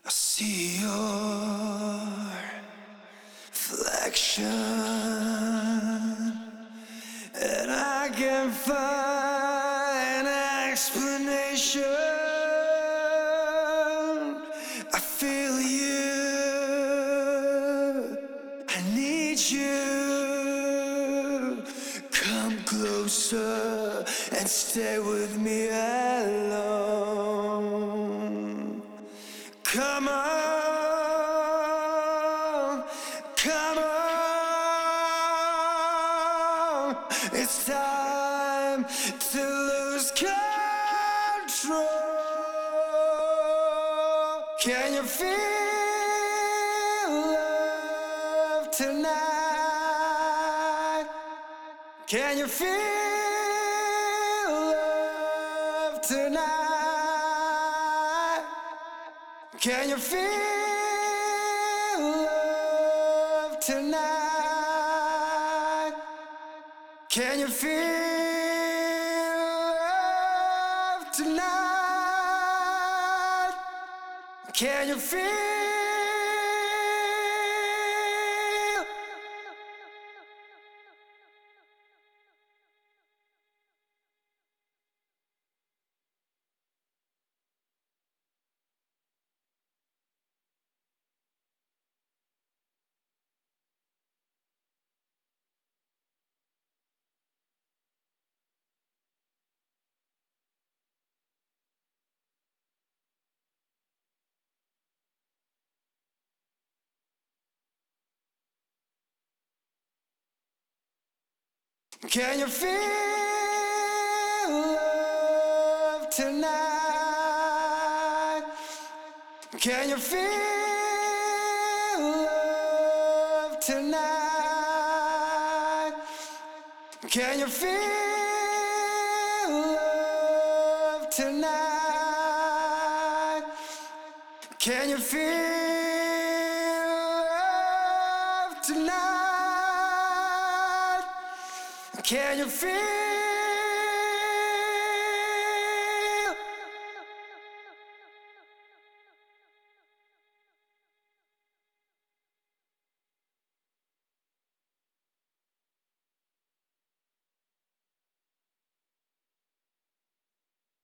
I see your reflection, and I can't find an explanation. I feel you, I need you. Come closer and stay with me alone. Come on, come on. It's time to lose control. Can you feel love tonight? Can you feel love tonight? Can you feel love tonight? Can you feel love tonight? Can you feel? Can you feel love tonight? Can you feel love tonight? Can you feel love tonight? Can you feel love tonight? Can you feel?